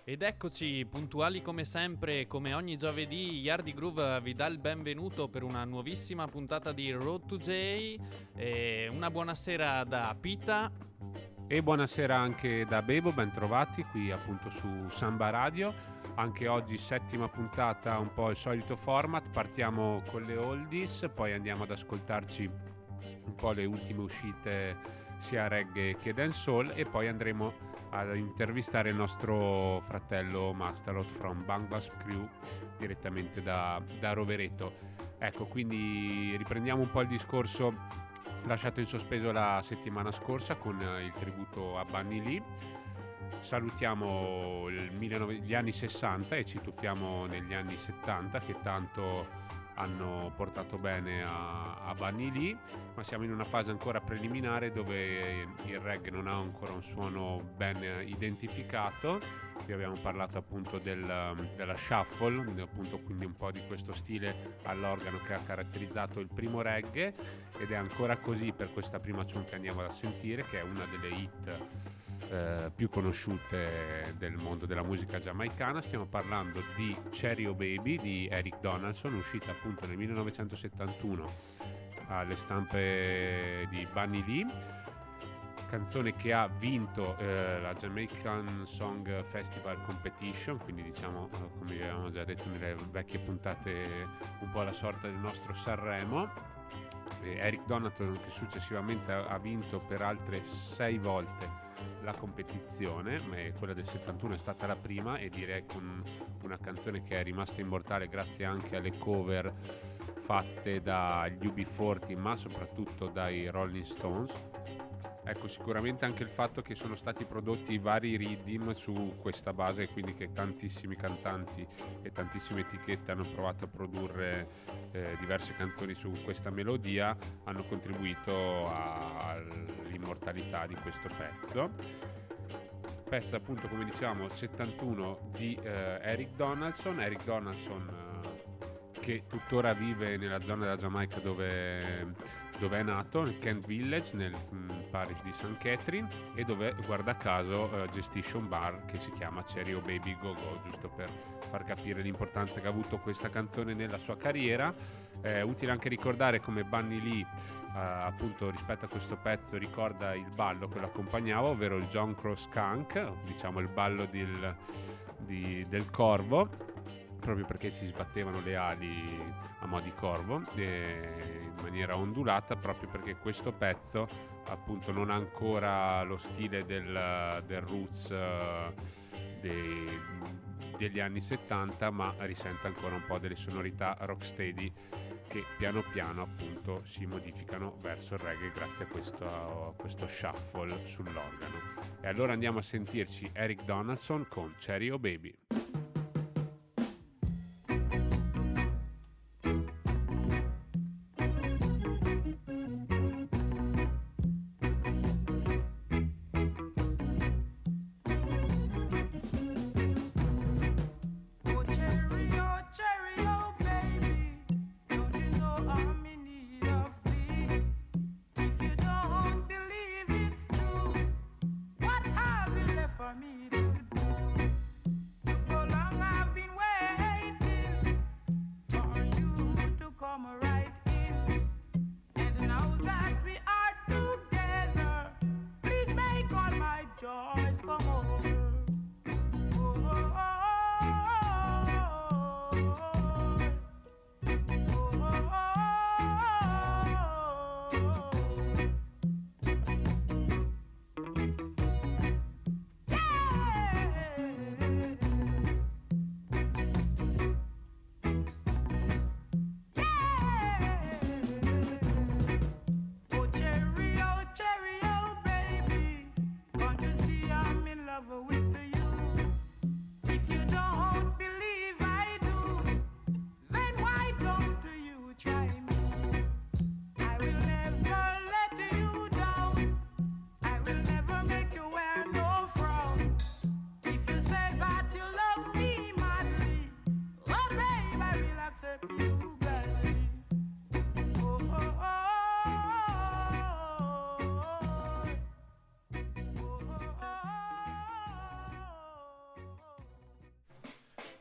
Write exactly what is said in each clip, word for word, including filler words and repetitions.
Ed eccoci, puntuali come sempre, come ogni giovedì, Yardi Groove vi dà il benvenuto per una nuovissima puntata di Road to J. E una buonasera da Pita. E buonasera anche da Bebo, ben trovati qui appunto su Samba Radio. Anche oggi settima puntata, un po' il solito format, partiamo con le oldies, poi andiamo ad ascoltarci un po' le ultime uscite sia reggae che dancehall e poi andremo ad intervistare il nostro fratello Mastalot from Bangladesh Crew direttamente da, da Rovereto. Ecco, quindi riprendiamo un po' il discorso lasciato in sospeso la settimana scorsa con il tributo a Bunny Lee. Salutiamo il millenovecento, gli anni sessanta e ci tuffiamo negli anni settanta che tanto hanno portato bene a, a Bunny Lee, ma siamo in una fase ancora preliminare dove il reggae non ha ancora un suono ben identificato. Vi abbiamo parlato appunto del, della shuffle, appunto, quindi un po' di questo stile all'organo che ha caratterizzato il primo reggae, ed è ancora così per questa prima tune che andiamo a sentire, che è una delle hit eh, più conosciute del mondo della musica giamaicana. Stiamo parlando di Cherry O Baby di Eric Donaldson, uscita appunto nel millenovecentosettantuno alle stampe di Bunny Lee, canzone che ha vinto eh, la Jamaican Song Festival Competition, quindi diciamo eh, come abbiamo già detto nelle vecchie puntate un po' la sorta del nostro Sanremo. eh, Eric Donaldson, che successivamente ha, ha vinto per altre sei volte la competizione, ma quella del settantuno è stata la prima, e direi con una canzone che è rimasta immortale grazie anche alle cover fatte dagli U B quaranta ma soprattutto dai Rolling Stones. Ecco, sicuramente anche il fatto che sono stati prodotti vari riddim su questa base, e quindi che tantissimi cantanti e tantissime etichette hanno provato a produrre eh, diverse canzoni su questa melodia, hanno contribuito all'immortalità di questo pezzo. Pezzo appunto, come dicevamo, settantuno di eh, Eric Donaldson. Eric Donaldson eh, che tuttora vive nella zona della Giamaica dove, dove è nato, nel Kent Village, nel mh, parish di Saint Catherine, e dove, guarda caso, eh, gestisce un bar che si chiama Cherry O Baby Go Go, giusto per far capire l'importanza che ha avuto questa canzone nella sua carriera. È eh, utile anche ricordare come Bunny Lee Uh, appunto rispetto a questo pezzo ricorda il ballo che lo accompagnava, ovvero il John Crow Skunk, diciamo il ballo del, di, del corvo, proprio perché si sbattevano le ali a mo' di corvo e in maniera ondulata, proprio perché questo pezzo appunto non ha ancora lo stile del, del roots uh, dei, degli anni settanta, ma risente ancora un po' delle sonorità rocksteady che piano piano appunto si modificano verso il reggae grazie a questo, a questo shuffle sull'organo. E allora andiamo a sentirci Eric Donaldson con Cherry O Baby.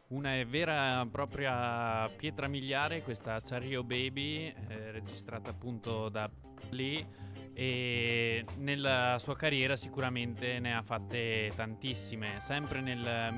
Una vera e propria pietra miliare, questa Cherry Oh Baby, eh, registrata appunto da Lee, e nella sua carriera sicuramente ne ha fatte tantissime. Sempre nel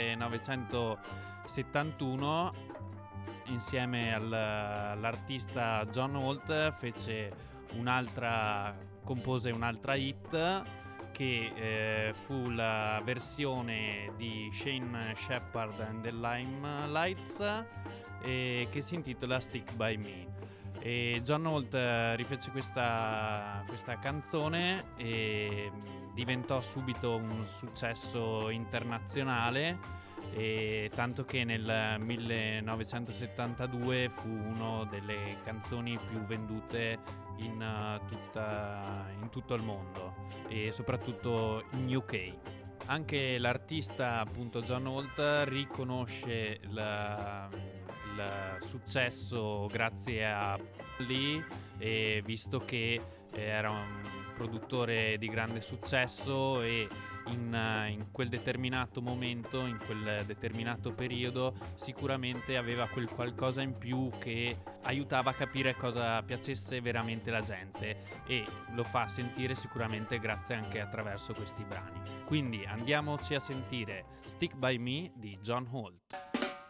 millenovecentosettantuno, insieme al, all'artista John Holt, fece un'altra, compose un'altra hit che eh, fu la versione di Shane Shepherd and the Limelights, eh, che si intitola Stick By Me. E John Holt eh, rifece questa, questa canzone e diventò subito un successo internazionale, e tanto che nel millenovecentosettantadue fu una delle canzoni più vendute in, uh, tutta, in tutto il mondo, e soprattutto in U K. Anche l'artista, appunto John Holt, riconosce la, il successo grazie a Lee, e visto che era un produttore di grande successo, e in, in quel determinato momento, in quel determinato periodo, sicuramente aveva quel qualcosa in più che aiutava a capire cosa piacesse veramente la gente, e lo fa sentire sicuramente grazie anche attraverso questi brani. Quindi andiamoci a sentire Stick By Me di John Holt.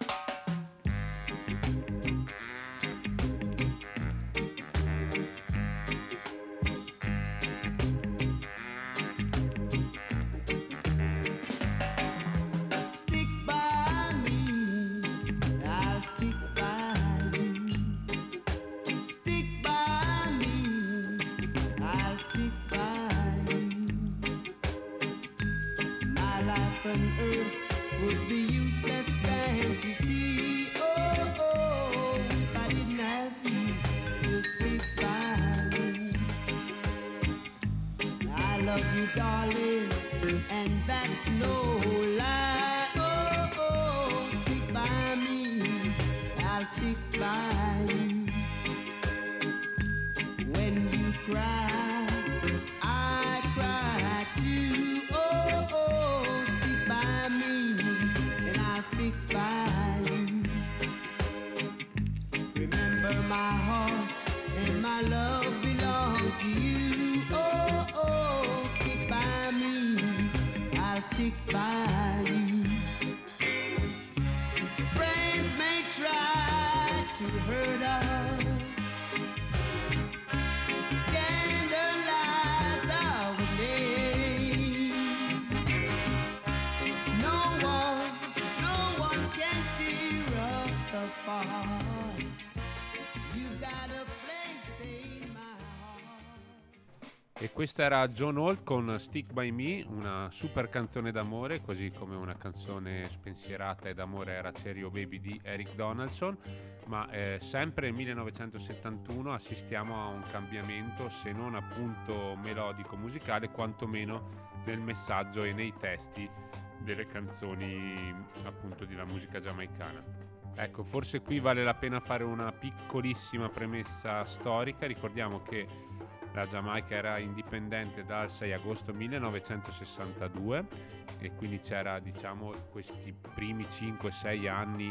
E questa era John Holt con Stick By Me, una super canzone d'amore, così come una canzone spensierata e d'amore era Cherry Oh Baby di Eric Donaldson. Ma eh, sempre nel millenovecentosettantuno assistiamo a un cambiamento, se non appunto melodico musicale, quantomeno nel messaggio e nei testi delle canzoni appunto della musica giamaicana. Ecco, forse qui vale la pena fare una piccolissima premessa storica. Ricordiamo che la Giamaica era indipendente dal sei agosto millenovecentosessantadue, e quindi c'era, diciamo, questi primi cinque sei anni,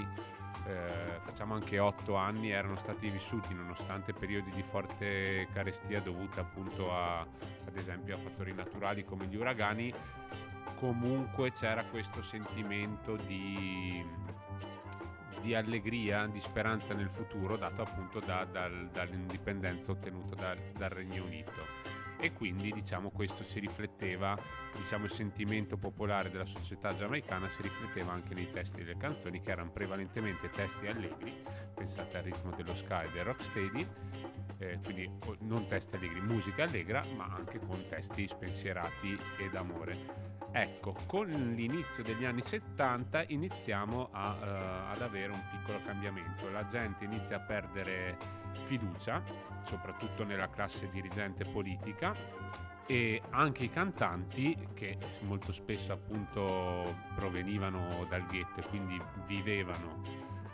eh, facciamo anche otto anni, erano stati vissuti nonostante periodi di forte carestia dovuta appunto a, ad esempio a fattori naturali come gli uragani. Comunque c'era questo sentimento di di allegria, di speranza nel futuro, dato appunto da, dal, dall'indipendenza ottenuta dal, dal Regno Unito, e quindi diciamo questo si rifletteva, diciamo il sentimento popolare della società giamaicana si rifletteva anche nei testi delle canzoni, che erano prevalentemente testi allegri, pensate al ritmo dello ska e del rocksteady, eh, quindi non testi allegri, musica allegra, ma anche con testi spensierati e d'amore. Ecco, con l'inizio degli anni settanta iniziamo a, uh, ad avere un piccolo cambiamento. La gente inizia a perdere fiducia, soprattutto nella classe dirigente politica, e anche i cantanti, che molto spesso appunto provenivano dal ghetto e quindi vivevano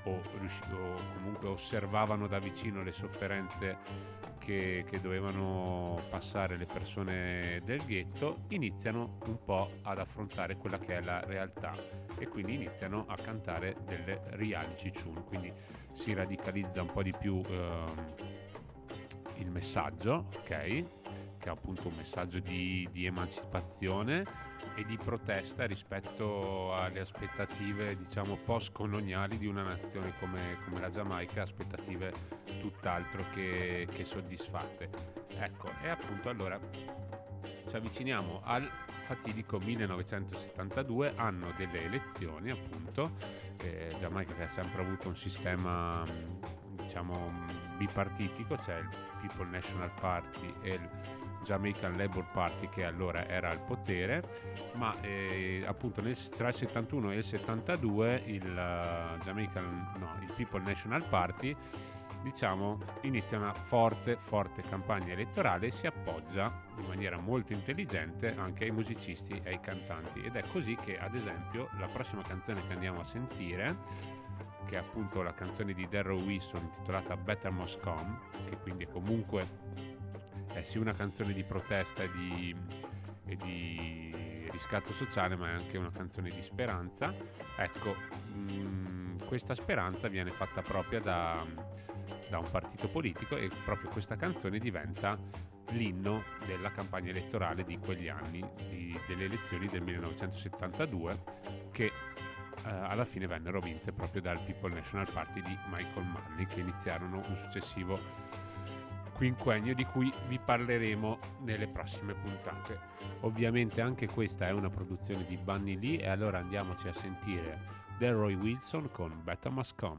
o, riusci- o comunque osservavano da vicino le sofferenze che, che dovevano passare le persone del ghetto, iniziano un po' ad affrontare quella che è la realtà e quindi iniziano a cantare delle reality tune, quindi si radicalizza un po' di più ehm, il messaggio, ok? Che è appunto un messaggio di, di emancipazione e di protesta rispetto alle aspettative, diciamo, post-coloniali di una nazione come, come la Giamaica, aspettative tutt'altro che, che soddisfatte. Ecco, e appunto allora ci avviciniamo al fatidico millenovecentosettantadue, anno delle elezioni, appunto. eh, Giamaica che ha sempre avuto un sistema, diciamo, bipartitico, c'è il People National Party e il Jamaican Labour Party che allora era al potere, ma eh, appunto nel, tra il settantuno e il settantadue il uh, Jamaican, no, il People National Party, diciamo, inizia una forte forte campagna elettorale e si appoggia in maniera molto intelligente anche ai musicisti e ai cantanti, ed è così che ad esempio la prossima canzone che andiamo a sentire, che è appunto la canzone di Darryl Wilson intitolata Better Must Come, che quindi è comunque è sì una canzone di protesta e di, e di riscatto sociale, ma è anche una canzone di speranza. Ecco, mh, questa speranza viene fatta propria da, da un partito politico e proprio questa canzone diventa l'inno della campagna elettorale di quegli anni, di, delle elezioni del millenovecentosettantadue, che eh, alla fine vennero vinte proprio dal People National Party di Michael Manley, che iniziarono un successivo quinquennio di cui vi parleremo nelle prossime puntate. Ovviamente anche questa è una produzione di Bunny Lee, e allora andiamoci a sentire Darryl Wilson con Better Must Come.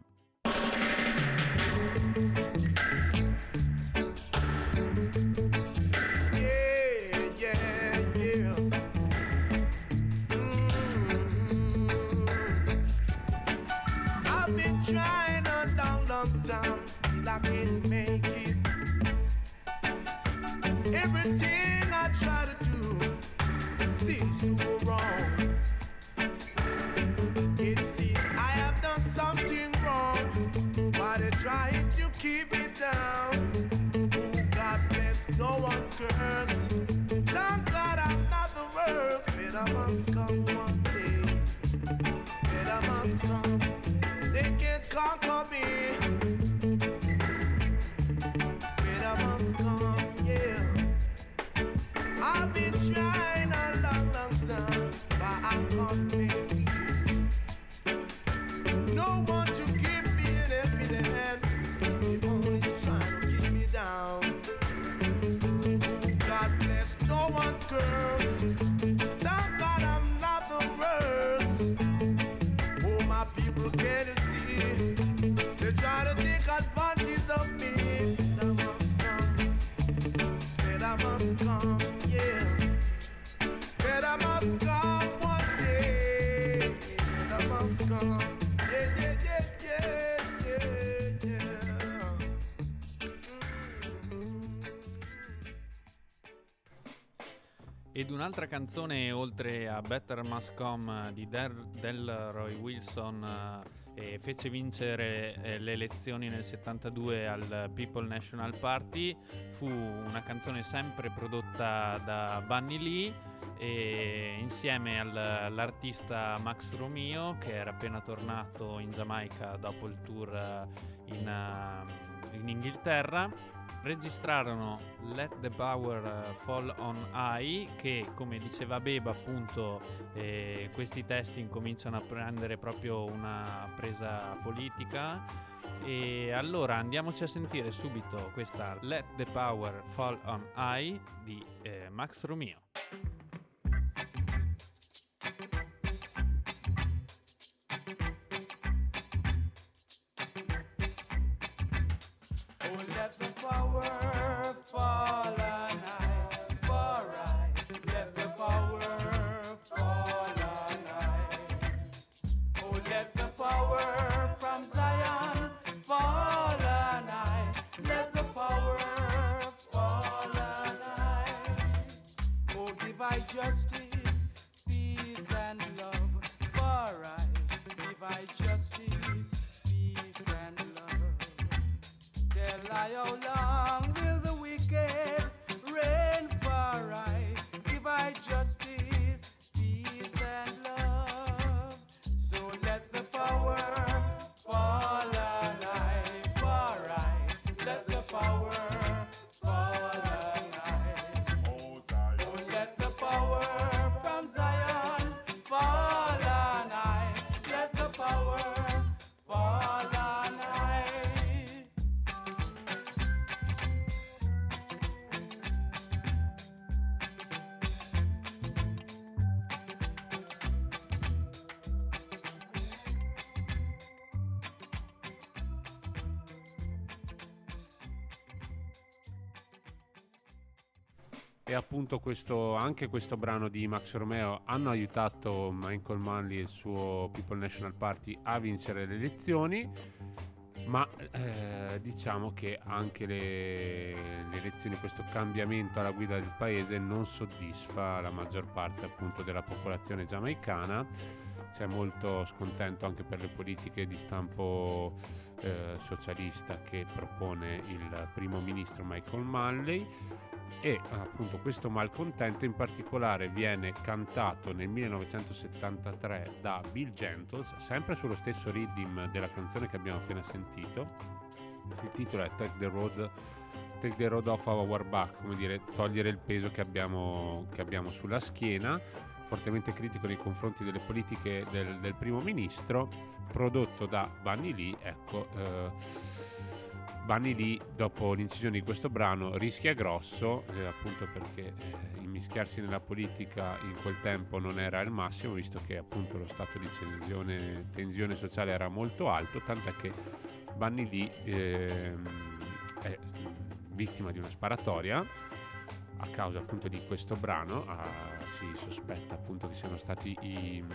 Yeah, yeah, yeah. Mm-hmm. I've been trying a long, long time, still I can't make it. Everything I try to do seems to go wrong. It seems I have done something wrong, but they're trying to keep me down. Oh, God bless, no one curse. Thank God I'm not the worst. Better must come one day. Better must come. They can't conquer me. Better must come, yeah. I've been trying a long, long time, but I can't make it. No one to give me an help in the hand. They only trying to keep me down. Oh, God bless, no one curse. Thank God I'm not the worst. Oh, my people can't see. They try to take advantage of me. That must come. That must come. Better must come one day. Better must come. Yeah, yeah, yeah, yeah, yeah, yeah. Mm-hmm. Ed un'altra canzone oltre a Better Must Come di Der- Delroy Wilson eh, fece vincere eh, le elezioni nel settantadue al People National Party. Fu una canzone sempre prodotta da Bunny Lee, e insieme al, all'artista Max Romeo, che era appena tornato in Giamaica dopo il tour in, uh, in Inghilterra, registrarono Let the Power Fall on High, che, come diceva Beba, appunto eh, questi testi incominciano a prendere proprio una presa politica. E allora andiamoci a sentire subito questa Let the Power Fall on High di eh, Max Romeo. Let the power fall on high, for I. Let the power fall on high. Oh, let the power from Zion fall on high. Let the power fall on high. Oh, divide justice, peace and love, for I. Divide justice, peace I, how long will the wicked reign for I? Give I justice, peace and love. So let the power fall on I, for I. Let the power fall on I. Oh, let the power from Zion fall on I. Let the power fall on I. E appunto questo, anche questo brano di Max Romeo hanno aiutato Michael Manley e il suo People National Party a vincere le elezioni, ma eh, diciamo che anche le, le elezioni, questo cambiamento alla guida del paese non soddisfa la maggior parte appunto della popolazione giamaicana. C'è molto scontento anche per le politiche di stampo eh, socialista che propone il primo ministro Michael Manley, e appunto questo malcontento in particolare viene cantato nel millenovecentosettantatré da Bill Gentles, sempre sullo stesso rhythm della canzone che abbiamo appena sentito. Il titolo è Take the Road, Take the Road Off Our Back, come dire, togliere il peso che abbiamo, che abbiamo sulla schiena, fortemente critico nei confronti delle politiche del, del primo ministro, prodotto da Bunny Lee. Ecco, eh, Bunny Lee, dopo l'incisione di questo brano, rischia grosso, eh, appunto perché eh, immischiarsi nella politica in quel tempo non era il massimo, visto che appunto lo stato di tensione, tensione sociale era molto alto, tant'è che Bunny Lee eh, è vittima di una sparatoria a causa appunto di questo brano. Ah, si sospetta appunto che siano stati i,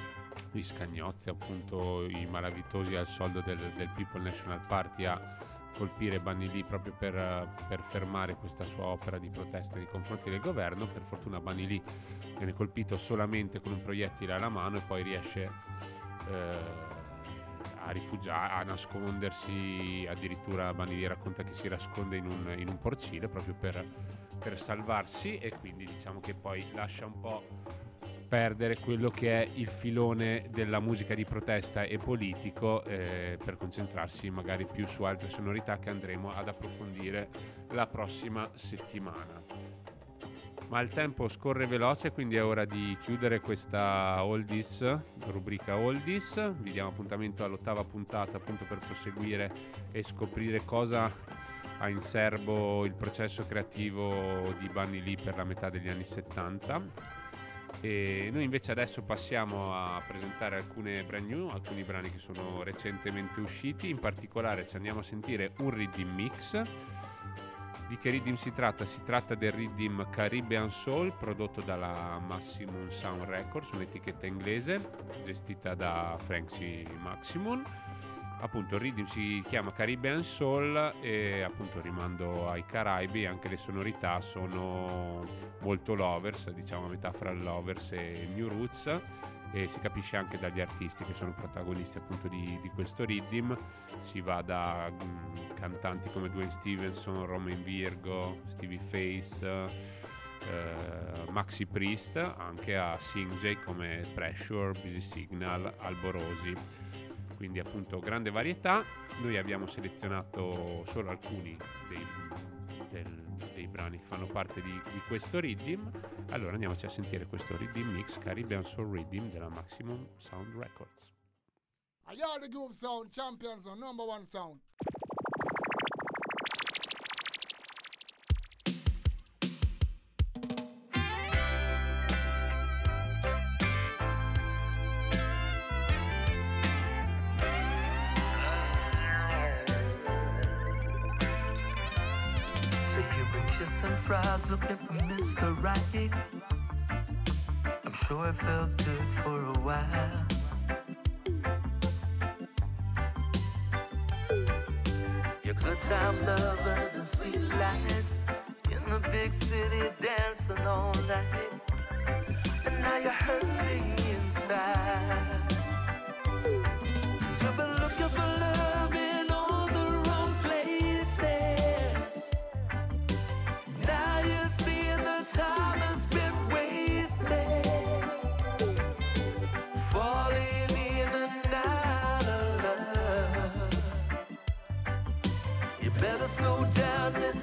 i scagnozzi, appunto i malavitosi al soldo del, del People National Party a colpire Bunny Lee proprio per, per fermare questa sua opera di protesta nei confronti del governo. Per fortuna Bunny Lee viene colpito solamente con un proiettile alla mano e poi riesce eh, a rifugiare, a nascondersi. Addirittura Bunny Lee racconta che si nasconde in un, in un porcile proprio per, per salvarsi, e quindi diciamo che poi lascia un po' perdere quello che è il filone della musica di protesta e politico eh, per concentrarsi magari più su altre sonorità che andremo ad approfondire la prossima settimana. Ma il tempo scorre veloce, quindi è ora di chiudere questa Oldies, rubrica Oldies. Vi diamo appuntamento all'ottava puntata appunto per proseguire e scoprire cosa ha in serbo il processo creativo di Bunny Lee per la metà degli anni settanta. E noi invece adesso passiamo a presentare alcune brand new, alcuni brani che sono recentemente usciti. In particolare ci andiamo a sentire un rhythm mix. Di che rhythm si tratta? Si tratta del rhythm Caribbean Soul, prodotto dalla Maximum Sound Records, un'etichetta inglese gestita da Frankie Maximum. Appunto il rhythm si chiama Caribbean Soul e appunto rimando ai Caraibi. Anche le sonorità sono molto lovers, diciamo a metà fra lovers e new roots, e si capisce anche dagli artisti che sono protagonisti appunto di, di questo rhythm. Si va da mh, cantanti come Dwayne Stevenson, Romain Virgo, Stevie Face, eh, Maxi Priest, anche a Sing J come Pressure, Busy Signal, Alborosi. Quindi appunto grande varietà. Noi abbiamo selezionato solo alcuni dei, del, dei brani che fanno parte di, di questo rhythm. Allora andiamoci a sentire questo rhythm mix Caribbean Soul Rhythm della Maximum Sound Records. I are the Groove Sound champions on number one sound. Kissing frogs looking for Mister Right. I'm sure it felt good for a while. Your good time lovers and sweet lies in the big city dancing all night, and now you're hurting inside. You've been looking for love in all the wrong places.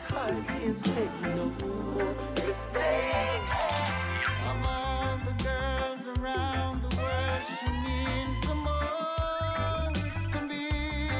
heart can't take no mistake. Of all the girls around the world, she means the most to me.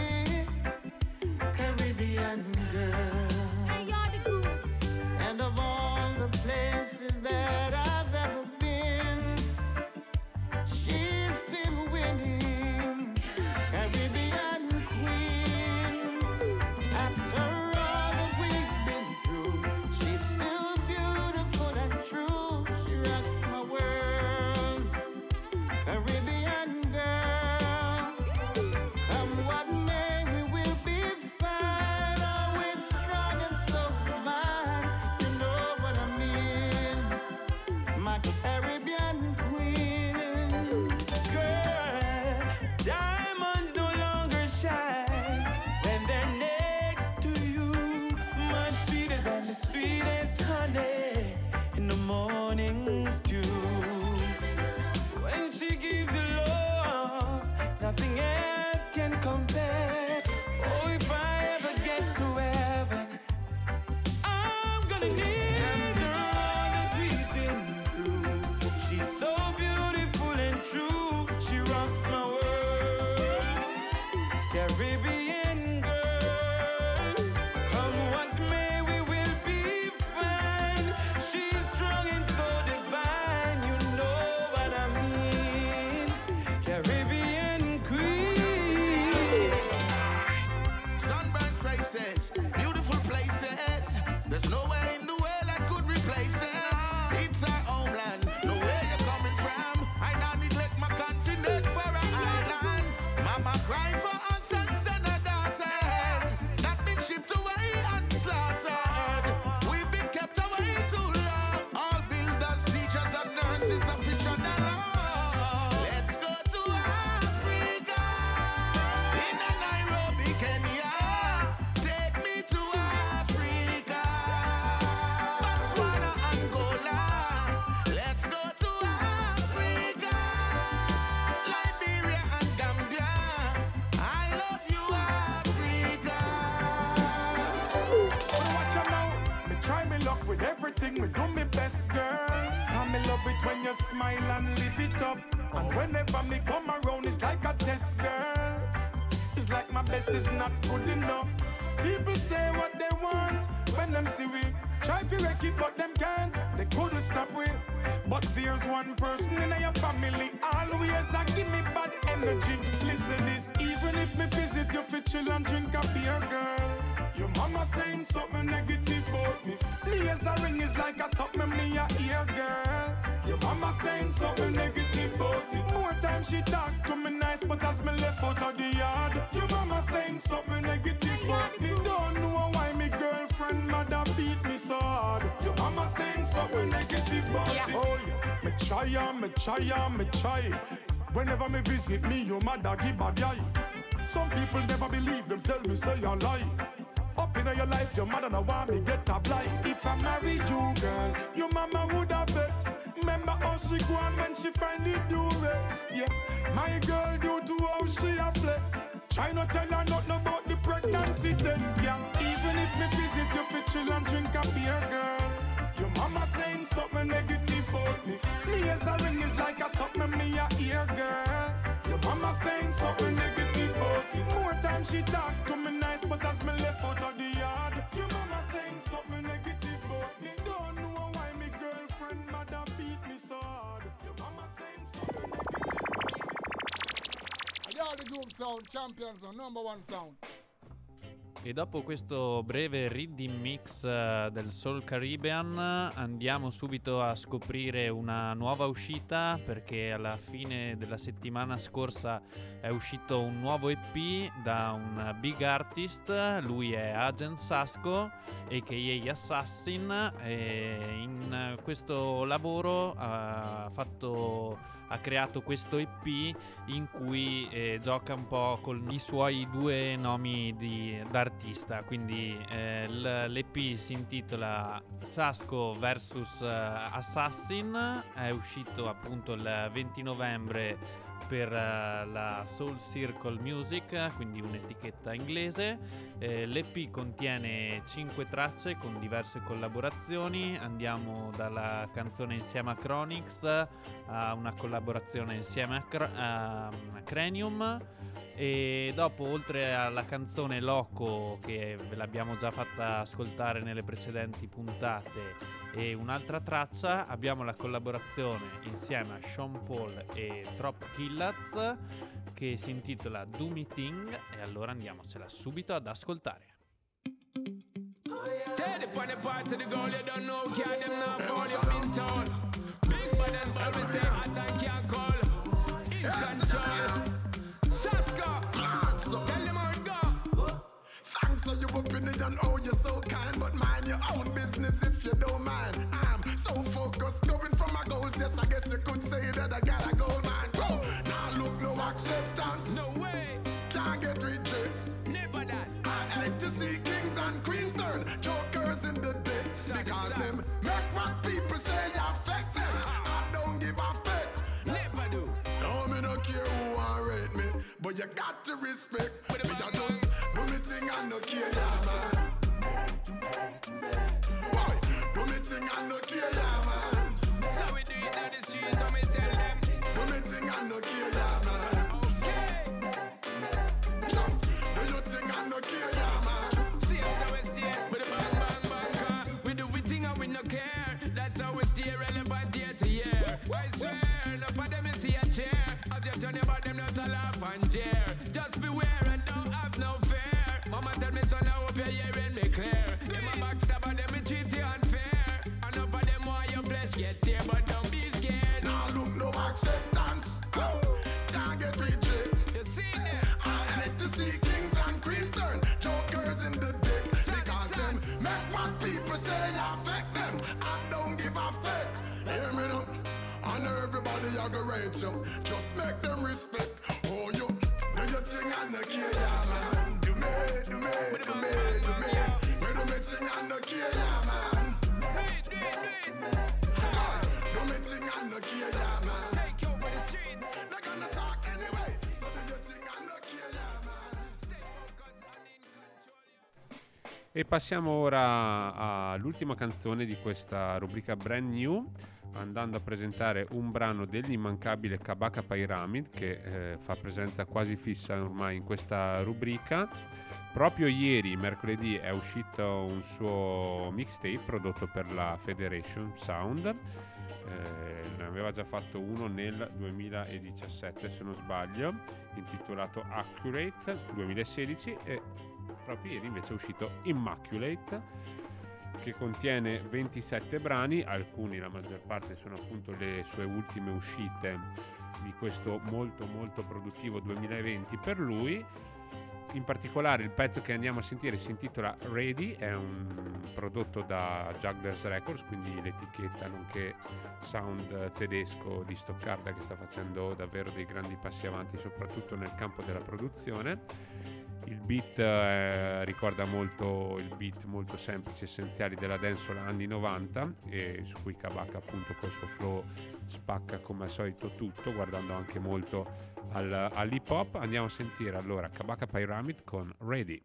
Caribbean girl. Hey, you're the groove. And of all the places that I've ever been, she's still winning. Caribbean queen. After all that we've been through, she's still beautiful and true. She rocks my world. Caribbean girl. Come what may, we will be fine. Always strong and so divine. You know what I mean? My Caribbean queen. Girl, diamonds no longer shine when they're next to you. Much sweeter than the sweetest honey in the morning stew. When she gives you love, nothing else can compare. Oh, if I ever get to heaven, I'm gonna need her all that we've been through. She's so beautiful and true. She rocks my world. Caribbean girl, come what may, we will be fine. She's strong and so divine. You know what I mean? Caribbean queen. Sunburned faces, beautiful places. There's nowhere in the world I could replace it. It's our homeland, know where you're coming from. I now neglect my continent for an island. Mama cry for her sons and her daughters that been shipped away and slaughtered. We've been kept away too long. All builders, teachers, and nurses are featured along. Let's go to Africa. In Nairobi, Kenya. Take me to Africa. Botswana, Angola. Let's go to Africa. Liberia and Gambia. I love you, Africa. Watch out now, me try me luck with everything, me do me best, girl. And me love it when you smile and live it up. And whenever me come around, it's like a test, girl. It's like my best is not good enough. People say what they want when them see we try to wreck it, but them can't. They couldn't stop we. But there's one person in your family always a give me bad energy. Listen this, even if me visit you for chill and drink a beer, girl. Your mama saying something negative about me. Me as a ring is like a something me a ear, girl. Your mama saying something negative about it. More time she talk to me nice, but as me left out of the yard, your mama saying something negative about me. Don't know why me girlfriend mother beat me so hard. Your mama saying something negative about it. Oh yeah, me try and me try and me try. Whenever me visit me, your mother give bad eye. Some people never believe them, tell me say you lie. Up in your life, your mother no want me get a blind. If I marry you, girl, your mama would have vexed. Remember how she go on when she find the durex. Yeah, my girl due to how she a flex. Try not tell her nothing about the pregnancy test, girl. Even if me visit you for chill and drink a beer, girl. Your mama saying something negative about me. Me as a ring is like a something me a ear, girl. Your mama saying something negative about it. More time she talk to me nice, but as me left out of the yard, your mama saying something negative about me. Don't know why me girlfriend mother beat me so hard. Your mama saying something negative. Y'all the Groove Sound champions on number one sound. E dopo questo breve reading mix uh, del Soul Caribbean andiamo subito a scoprire una nuova uscita, perché alla fine della settimana scorsa è uscito un nuovo E P da un big artist. Lui è Agent Sasco aka Assassin, e in questo lavoro ha fatto ha creato questo E P in cui eh, gioca un po' con i suoi due nomi di, d'artista. Quindi eh, l'E P si intitola Sasco versus uh, Assassin, è uscito appunto il venti novembre per uh, la Soul Circle Music, quindi un'etichetta inglese. Eh, L'E P contiene cinque tracce con diverse collaborazioni. Andiamo dalla canzone insieme a Chronix a una collaborazione insieme a, Cr- a Cranium. E dopo, oltre alla canzone Loco, che ve l'abbiamo già fatta ascoltare nelle precedenti puntate, e un'altra traccia, abbiamo la collaborazione insieme a Sean Paul e Trop Killaz che si intitola Do Me Thing, e allora andiamocela subito ad ascoltare. Steady on the part of the goal, you don't know, can't them now fall, you've been told. Big bad and bold, we stay hot and can't call. In control. Saska, tell them how it go. Thanks for your opinion, oh you're so kind, but mind your own business if you don't mind. I'm so focused, going for my goals, yes I guess you could say that I got a goal, man. Oh, now look, no acceptance, No way, can't get rejected. never that. I like to see kings and queens turn jokers in the dead, because them make what people say affect them. I don't give a fuck. Never do. No, me no care who I rate me, but you got to respect. Me I just do me thing and no care, yeah, man. Boy, do me thing and no care, yeah, man. So we do it on the street, let me tell them. Do me thing and no care, yeah, man. Okay. Jump, do your thing and no care, yeah, man. See us how we stay, with a bang bang bang car. We do we thing and we no care. That's how we stay relevant year to year. I swear, no for them is see a chair. As you turn about them, not a laugh and jeer. Just beware and don't have no fear. Mama tell me son, I hope you're hearing me clear. Them a backstabber, them me treat you unfair. And no for them why your flesh get tear, but don't be scared. Now look, no acceptance. Oh, can't get rejected. You see them? I like to see kings and queens turn jokers in the deck, because them make what people say affect them. I don't give a fuck. Hear me now. I know everybody I go rate you. Just make them respect. Oh, you do your thing and no care, yeah, man. Do me, do me, do me, do me. Me do me thing and no care, yeah, man. Do it, do it, do it. God, do me thing and no care, yeah, man. Take you over the street. They're gonna talk anyway. So do your thing and no care, yeah, man. Stay focused and in control. E passiamo ora all'ultima canzone di questa rubrica Brand New, andando a presentare un brano dell'immancabile Kabaka Pyramid, che eh, fa presenza quasi fissa ormai in questa rubrica. Proprio ieri, mercoledì, è uscito un suo mixtape prodotto per la Federation Sound. Eh, ne aveva già fatto uno nel duemiladiciassette, se non sbaglio, intitolato Accurate duemilasedici, e proprio ieri invece è uscito Immaculate, che contiene ventisette brani. Alcuni, la maggior parte, sono appunto le sue ultime uscite di questo molto molto produttivo duemilaventi per lui. In particolare il pezzo che andiamo a sentire si intitola Ready, è un prodotto da Jugglers Records, quindi l'etichetta nonché sound tedesco di Stoccarda, che sta facendo davvero dei grandi passi avanti soprattutto nel campo della produzione. Il beat eh, ricorda molto il beat molto semplici, essenziali della dancehall anni novanta, e su cui Kabaka appunto col suo flow spacca come al solito tutto, guardando anche molto al, all'hip hop. Andiamo a sentire allora Kabaka Pyramid con Ready.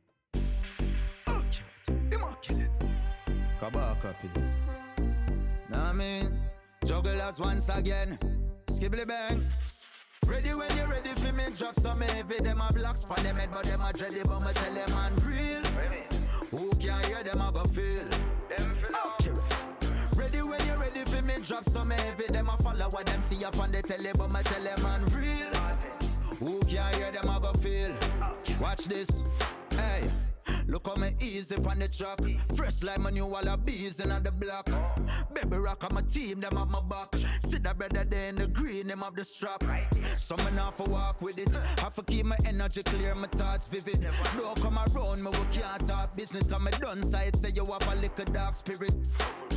Kabaka P. Now I mean, jugglers once again, skibbly bang. Ready when you're ready for me, drop some heavy. Them a blocks for them head, but them a dready. But me tell them man real. Who can hear them a go feel? Them feel okay. Ready when you're ready for me, drop some heavy. Them a follow what them see up on the telly. But me tell them man real. Who can hear them a go feel? Watch this, hey. Look how me easy on the track. Fresh like my new wall of bees in the block. Baby rock on my team, them have my back. See that brother there in the green, them have the strap. So me not for walk with it. Have to keep my energy clear, my thoughts vivid. Don't come around me, we can't talk business. Cause me done side, say you have a little dark spirit.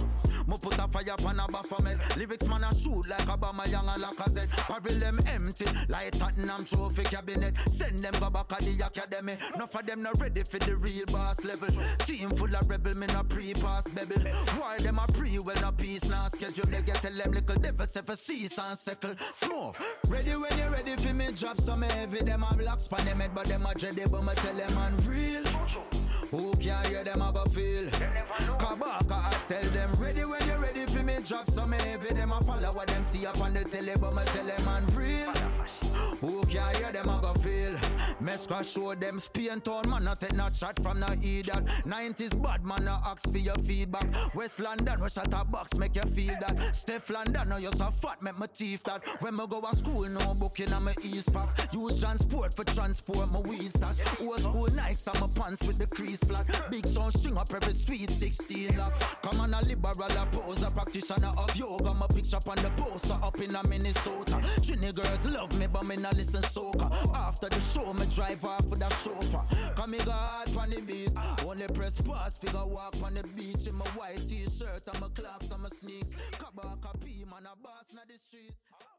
Me put a fire pan a Baphomet. Lyrics man a shoot like Obama Young and Lacazette. Parvel them empty like Tottenham trophy cabinet. Send them go back at the academy. Enough of them not ready for the real boss level. Team full of rebel, me no pre-pass bebel. Why them a pre, well no peace, now schedule. They get tell them little devils if a cease and settle. Smoke, ready when you ready for me drop some heavy. Them a black span them head, but them a dready. But me tell them man real. Who can hear them a go feel? Kabaka I tell them ready when you ready for me drop some heavy. Them a follow what them see up on the tele. But me tell them man real. Who can hear them a go feel? Mesca show them Spain town man not take no shot from no idiot. nineties bad man no ask for your feedback. West London we shot a box make you feel that. Steph London no you so fat make my teeth that. When me go to school no book in my east pack. Use transport for transport my weed stash. Old school Nikes on my pants with the crease flat. Big sound string up every sweet sixteen lock. Come on a liberal a pose a practitioner of yoga. My picture on the poster up in a Minnesota. Trini girls love me but me not listen soca. After the show me drive off with a chauffeur. Come me go hard on the beat. Only press pass figure walk on the beach. In my white t-shirt and my clocks and my sneaks. Kabaka P man a boss na the street.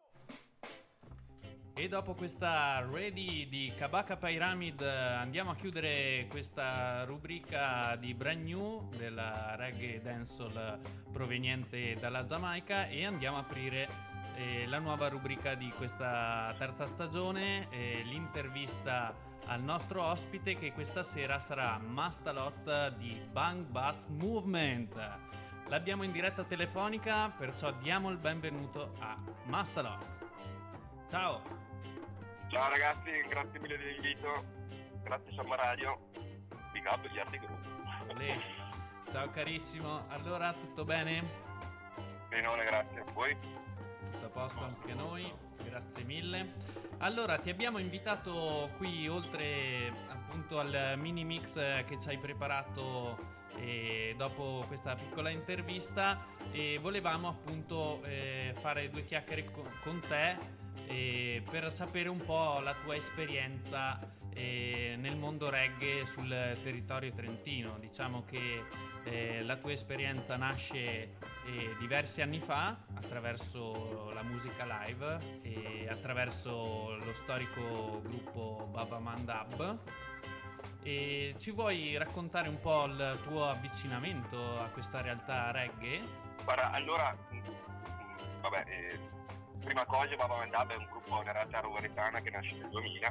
E dopo questa ready di Kabaka Pyramid andiamo a chiudere questa rubrica di Brand New della reggae dancehall proveniente dalla Giamaica e andiamo a aprire eh, la nuova rubrica di questa terza stagione, eh, l'intervista al nostro ospite che questa sera sarà Mastalot di Bang Bass Movement. L'abbiamo in diretta telefonica, perciò diamo il benvenuto a Mastalot. Ciao! Ciao ragazzi, grazie mille dell'invito, grazie Samba Radio, big up gli altri gruppi. Ciao carissimo, allora tutto bene? Benone, grazie, a voi? Tutto a posto anche noi, grazie mille. Allora ti abbiamo invitato qui oltre appunto al mini mix che ci hai preparato e dopo questa piccola intervista e volevamo appunto eh, fare due chiacchiere con, con te e per sapere un po' la tua esperienza eh, nel mondo reggae sul territorio trentino. Diciamo che eh, la tua esperienza nasce eh, diversi anni fa attraverso la musica live e attraverso lo storico gruppo Baba Mandab. E ci vuoi raccontare un po' il tuo avvicinamento a questa realtà reggae? Guarda, allora, vabbè, eh, prima cosa Baba Mandab è un gruppo, una realtà roveretana che nasce nel duemila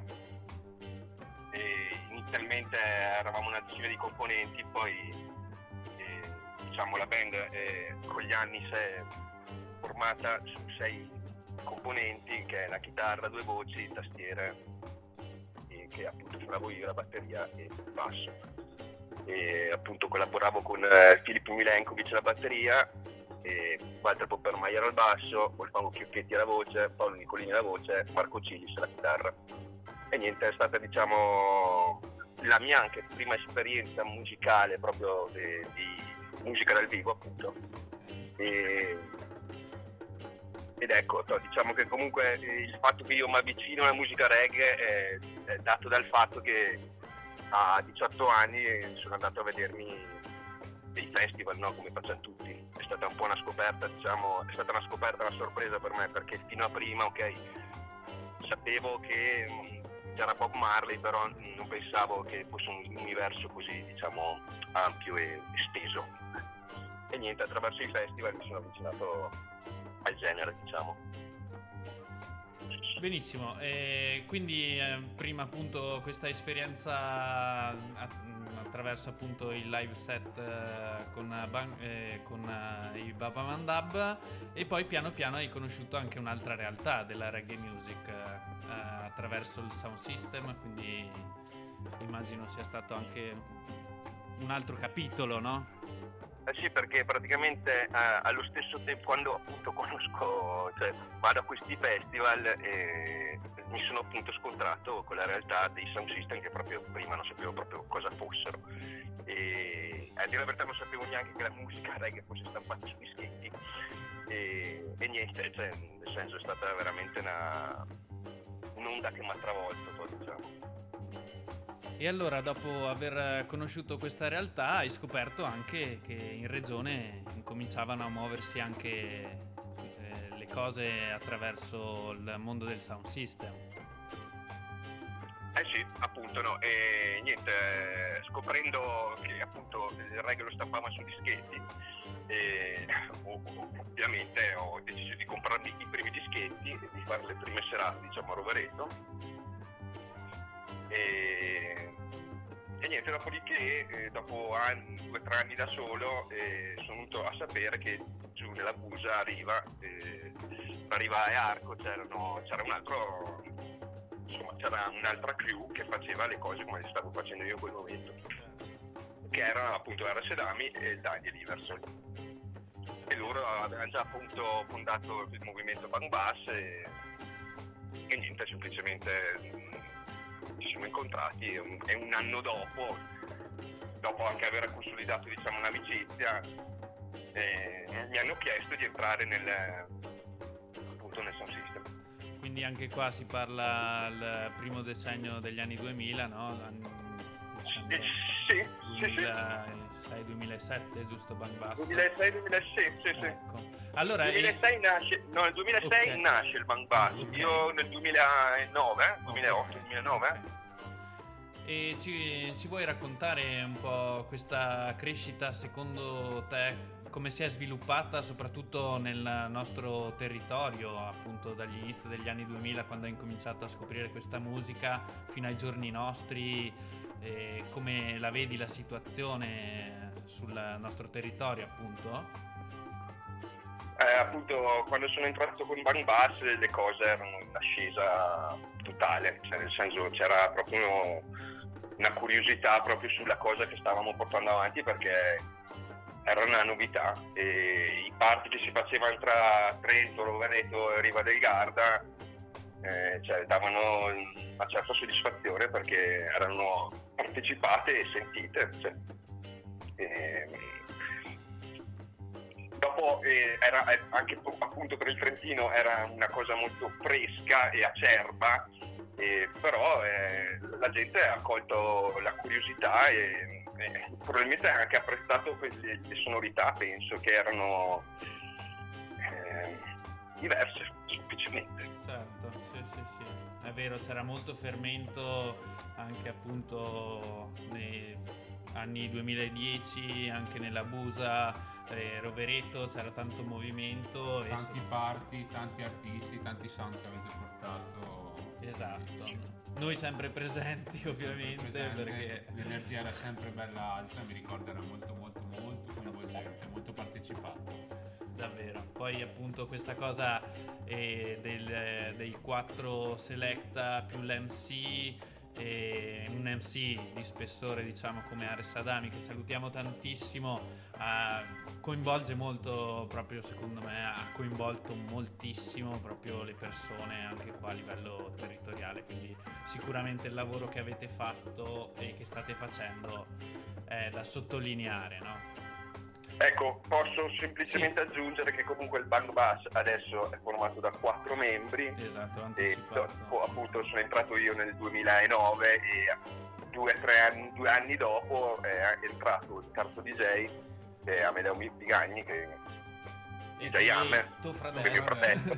e inizialmente eravamo una decina di componenti, poi eh, diciamo la band eh, con gli anni si è formata su sei componenti, che è la chitarra, due voci, tastiere, che appunto suonavo io la batteria e il basso e appunto collaboravo con eh, Filippo Milenkovic alla batteria e Walter Poppermaier al basso, Wolfgang Chiocchetti alla voce, Paolo Nicolini alla voce, Marco Cilis alla chitarra e niente, è stata diciamo la mia anche prima esperienza musicale proprio di, di musica dal vivo appunto e ed ecco, diciamo che comunque il fatto che io mi avvicino alla musica reggae è, è dato dal fatto che a diciotto anni sono andato a vedermi dei festival, no? Come facciamo tutti. È stata un po' una scoperta, diciamo, è stata una scoperta, una sorpresa per me, perché fino a prima, ok, sapevo che c'era Bob Marley, però non pensavo che fosse un universo così, diciamo, ampio e esteso. E niente, attraverso i festival mi sono avvicinato al genere, diciamo. Benissimo, e quindi eh, prima appunto questa esperienza attraverso appunto il live set eh, con, ban- eh, con eh, i Baba Mandab e poi piano piano hai conosciuto anche un'altra realtà della reggae music eh, attraverso il sound system, quindi immagino sia stato anche un altro capitolo, no? Eh sì, perché praticamente eh, allo stesso tempo, quando appunto conosco, cioè vado a questi festival e mi sono appunto scontrato con la realtà dei sound system che proprio prima non sapevo proprio cosa fossero e a dire la verità non sapevo neanche che la musica reggae fosse stampata su dischetti e, e niente, cioè nel senso è stata veramente una un'onda che mi ha travolto, diciamo. E allora dopo aver conosciuto questa realtà hai scoperto anche che in regione, in incominciavano a muoversi anche eh, le cose attraverso il mondo del sound system. Eh sì, appunto, no, e niente, eh, scoprendo che appunto il reggae lo stampava su dischetti, e ovviamente ho deciso di comprarmi i primi dischetti e di fare le prime serate, diciamo, a Rovereto. E, e niente, dopodiché, eh, dopo anni, due o tre anni da solo, eh, sono venuto a sapere che giù nella Busa arriva, eh, arriva e Arco, c'erano, c'era un altro... Insomma, c'era un'altra crew che faceva le cose come le stavo facendo io in quel momento, che erano appunto R S Dami e Daniel Iverson, e loro avevano già appunto fondato il movimento Bang Bass e, e niente, semplicemente mh, ci siamo incontrati e un, e un anno dopo, dopo anche aver consolidato, diciamo, un'amicizia, eh, mi hanno chiesto di entrare nel, appunto, nel sound system. Quindi anche qua si parla del primo decennio degli anni duemila, no? Diciamo sì, duemilasei duemilasette, giusto, Bang Bass? duemilasei duemilasette, sì, sì. Ecco. Allora, nel duemilasei e... nasce, no, nel duemilasei okay. nasce il Bang Bass, okay. Io nel duemilanove, duemilaotto, okay. duemilanove. Okay. E ci, ci vuoi raccontare un po' questa crescita, secondo te, come si è sviluppata soprattutto nel nostro territorio, appunto dagli inizi degli anni duemila, quando hai incominciato a scoprire questa musica, fino ai giorni nostri, e come la vedi la situazione sul nostro territorio, appunto? Eh, appunto, quando sono entrato con Bang Bass le cose erano in ascesa totale, cioè nel senso c'era proprio una curiosità proprio sulla cosa che stavamo portando avanti, perché era una novità, e i party che si facevano tra Trento, Rovereto e Riva del Garda eh, cioè, davano una certa soddisfazione perché erano partecipate e sentite. Cioè, e, dopo eh, era anche appunto per il Trentino era una cosa molto fresca e acerba, eh, però eh, la gente ha colto la curiosità e Eh, probabilmente ha anche apprezzato quelle, le sonorità, penso che erano eh, diverse semplicemente. Certo, sì sì sì, è vero, c'era molto fermento anche appunto nei anni duemiladieci, anche nella Busa, eh, Rovereto, c'era tanto movimento, tanti e... party, tanti artisti, tanti sound che avete portato. Esatto. Noi sempre presenti, ovviamente, presente, perché l'energia era sempre bella alta, mi ricordo era molto molto molto coinvolgente, molto partecipato. Davvero. Poi appunto questa cosa eh, del, dei quattro selecta più l'M C, e un M C di spessore, diciamo, come Ares Adami, che salutiamo tantissimo, eh, coinvolge molto, proprio secondo me ha coinvolto moltissimo proprio le persone anche qua a livello territoriale, quindi sicuramente il lavoro che avete fatto e che state facendo è da sottolineare, no? Ecco, posso semplicemente sì. aggiungere che comunque il Bang Bass adesso è formato da quattro membri. Esatto, anticipato. E dopo, appunto sono entrato io nel duemilanove e due tre anni, due anni dopo è entrato il terzo D J, che è Amedeo Bigagni, che è D J Hammer, tuo fratello. che è mio fratello.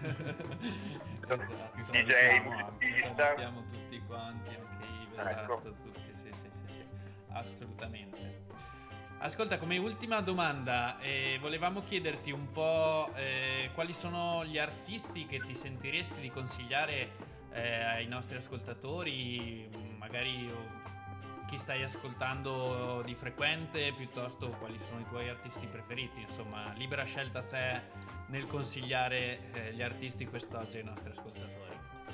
Esatto. D J, musicista. Salutiamo tutti quanti, anche Ive, ecco. esatto, tutti, sì, sì, sì, sì, assolutamente. Ascolta, come ultima domanda, eh, volevamo chiederti un po' eh, quali sono gli artisti che ti sentiresti di consigliare eh, ai nostri ascoltatori, magari chi stai ascoltando di frequente, piuttosto quali sono i tuoi artisti preferiti, insomma, libera scelta a te nel consigliare eh, gli artisti quest'oggi ai nostri ascoltatori.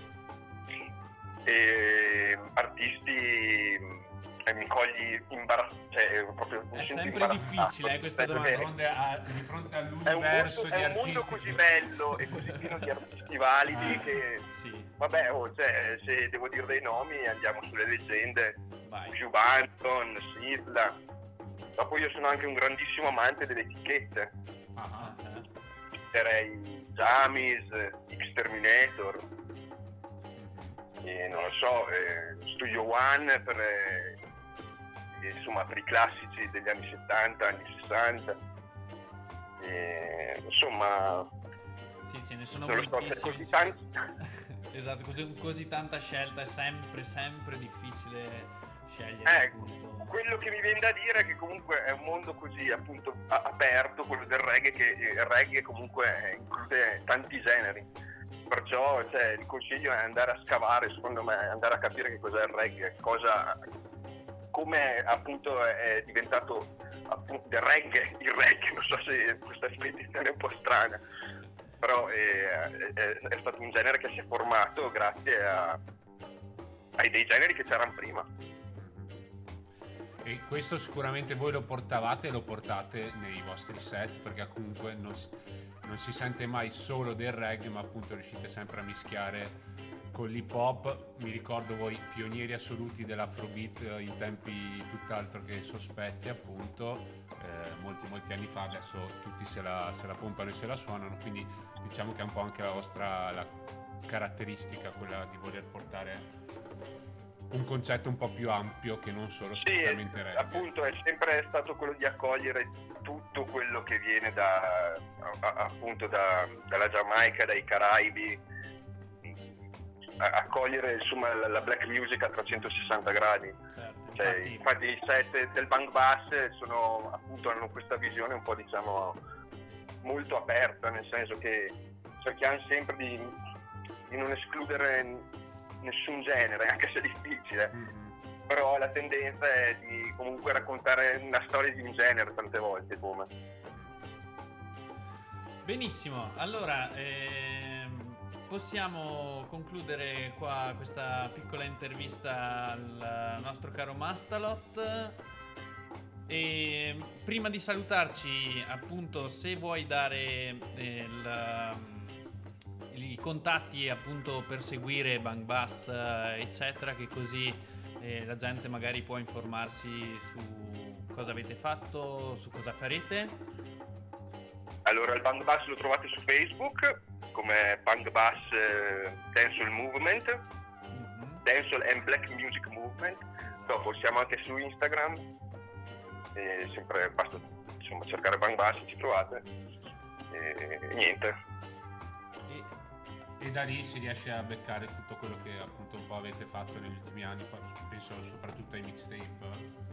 E, artisti... E mi cogli imbarazzato, cioè proprio mi è sento sempre difficile eh, questa domanda di fronte, a, di fronte è un mondo, all'universo di è un artisti mondo così che... bello e così pieno di artisti validi ah, che sì. vabbè oh, cioè, se devo dire dei nomi andiamo sulle leggende. Vai. Hugh Banton, Sidla. Dopo io sono anche un grandissimo amante delle etichette. Ah, ah. Direi Jamis, X-Terminator, e non lo so, eh, Studio One per eh, insomma per i classici degli anni settanta, anni sessanta. E, insomma, sì, ce ne sono non lo so, c'è moltissimi. così tanti. Esatto, così, così tanta scelta, è sempre, sempre difficile scegliere. Eh, appunto. Quello che mi viene da dire è che comunque è un mondo così appunto a- aperto, quello del reggae, che il reggae comunque include tanti generi. Perciò cioè, il consiglio è andare a scavare, secondo me, andare a capire che cos'è il reggae, cosa, come appunto è diventato appunto il reggae, il reggae, non so se questa definizione è un po' strana, però è, è, è stato un genere che si è formato grazie a, ai dei generi che c'erano prima. E questo sicuramente voi lo portavate e lo portate nei vostri set, perché comunque non si, non si sente mai solo del reggae, ma appunto riuscite sempre a mischiare con l'hip hop. Mi ricordo voi pionieri assoluti dell'afrobeat in tempi tutt'altro che sospetti, appunto, eh, molti molti anni fa. Adesso tutti se la, se la pompano e se la suonano, quindi diciamo che è un po' anche la vostra la caratteristica, quella di voler portare un concetto un po' più ampio che non solo strettamente sì, reggae. Appunto è sempre stato quello di accogliere tutto quello che viene da a, appunto da, dalla Giamaica, dai Caraibi, a, accogliere insomma la, la black music a trecentosessanta gradi. Certo, cioè, infatti... infatti i set del Bang Bass sono appunto hanno questa visione un po' diciamo molto aperta, nel senso che cerchiamo sempre di, di non escludere nessun genere, anche se è difficile, mm-hmm. però la tendenza è di comunque raccontare una storia di un genere tante volte come. Benissimo, allora ehm, possiamo concludere qua questa piccola intervista al nostro caro Mastalot. E prima di salutarci, appunto, se vuoi dare il i contatti appunto per seguire Bang Bass eccetera, che così eh, la gente magari può informarsi su cosa avete fatto, su cosa farete. Allora il Bang Bass lo trovate su Facebook come Bang Bass eh, Dancehall Movement, mm-hmm. Dancehall and Black Music Movement. Dopo siamo anche su Instagram e sempre basta insomma cercare Bang Bass, ci trovate e, e niente. E da lì si riesce a beccare tutto quello che appunto un po' avete fatto negli ultimi anni, penso soprattutto ai mixtape.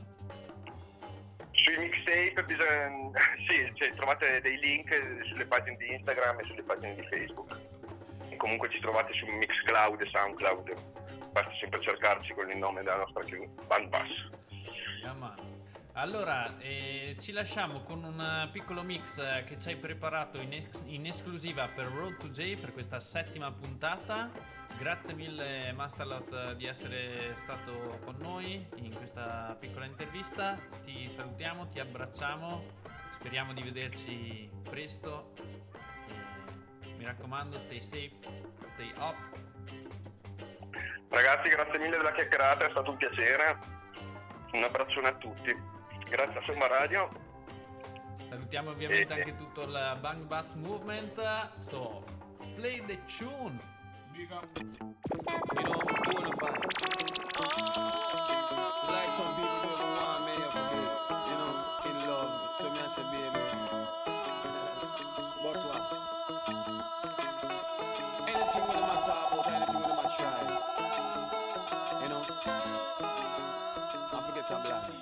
Sui mixtape bisogna, sì, cioè, trovate dei link sulle pagine di Instagram e sulle pagine di Facebook. E comunque ci trovate su Mixcloud e Soundcloud. Basta sempre cercarci con il nome della nostra Bang Bass. Yeah, allora, eh, ci lasciamo con un piccolo mix che ci hai preparato in, ex- in esclusiva per Road to J per questa settima puntata. Grazie mille Mastalot di essere stato con noi in questa piccola intervista. Ti salutiamo, ti abbracciamo, speriamo di vederci presto. E mi raccomando, stay safe, stay up. Ragazzi, grazie mille della chiacchierata, è stato un piacere. Un abbraccione a tutti. Grazie a Somma Radio. Salutiamo ovviamente e, anche tutto il Bang Bass Movement. So, play the tune. Big up. You know, bonafide. Oh. Like some people don't want me to forget. You know, in love. So me I say, baby. But what? Anything with them I talk about, anything with them I try. You know? I forget I'm blind.